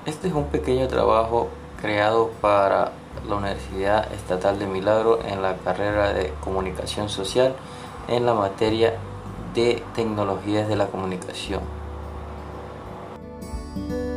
Este es un pequeño trabajo creado para la Universidad Estatal de Milagro en la carrera de Comunicación Social en la materia de Tecnologías de la Comunicación.